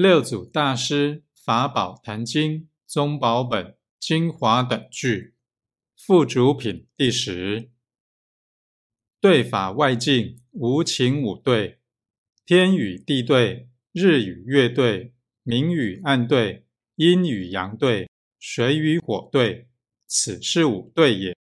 六祖大师法宝坛经宗宝本精华等句附主品第10。对法外境无情五对，天与地对，日与月对，明与暗对，阴与阳对，水与火对，此是五对也。